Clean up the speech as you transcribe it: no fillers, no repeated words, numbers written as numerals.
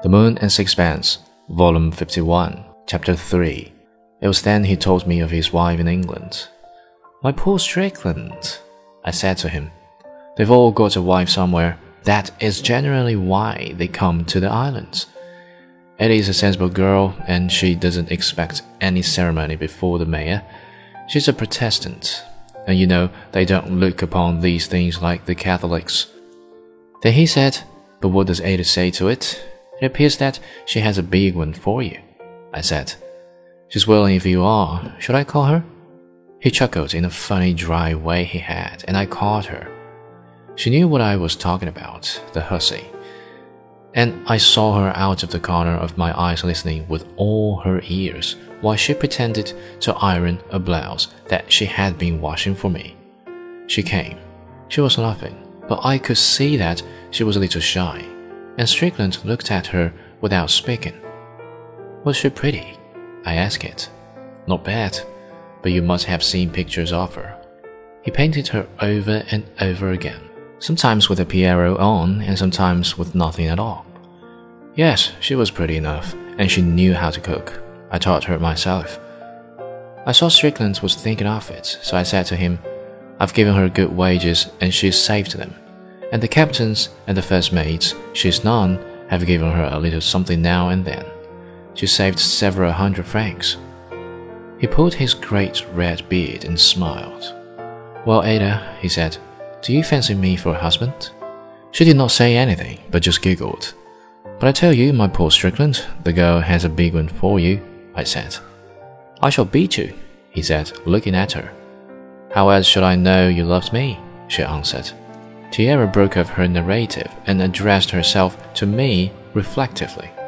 The Moon and Sixpence, Volume 51, Chapter 3. It was then he told me of his wife in England. "My poor Strickland," I said to him. "They've all got a wife somewhere. That is generally why they come to the islands. Eddie's a sensible girl, and she doesn't expect any ceremony before the mayor. She's a Protestant, and you know they don't look upon these things like the Catholics." Then he said, "But what does Ada say to it? It appears that she has a big one for you." I said, "She's willing if you are. Should I call her?" He chuckled in a funny dry way he had, and I called her. She knew what I was talking about, the hussy. And I saw her out of the corner of my eyes listening with all her ears while she pretended to iron a blouse that she had been washing for me. She came. She was laughing, but I could see that she was a little shy, and Strickland looked at her without speaking. "Was she pretty?" I asked it. "Not bad, but you must have seen pictures of her." He painted her over and over again, sometimes with a Pierrot on and sometimes with nothing at all. Yes, she was pretty enough, and she knew how to cook. I taught her myself. I saw Strickland was thinking of it, so I said to him, "I've given her good wages and she's saved them. And the captains and the first mates she's known have given her a little something now and then. She saved several hundred francs." He pulled his great red beard and smiled. "Well, Ada," he said, "do you fancy me for a husband?" She did not say anything, but just giggled. "But I tell you, my poor Strickland, the girl has a big one for you," I said. "I shall beat you," he said, looking at her. "How else should I know you loved me?" she answered. Tiara broke off her narrative and addressed herself to me reflectively.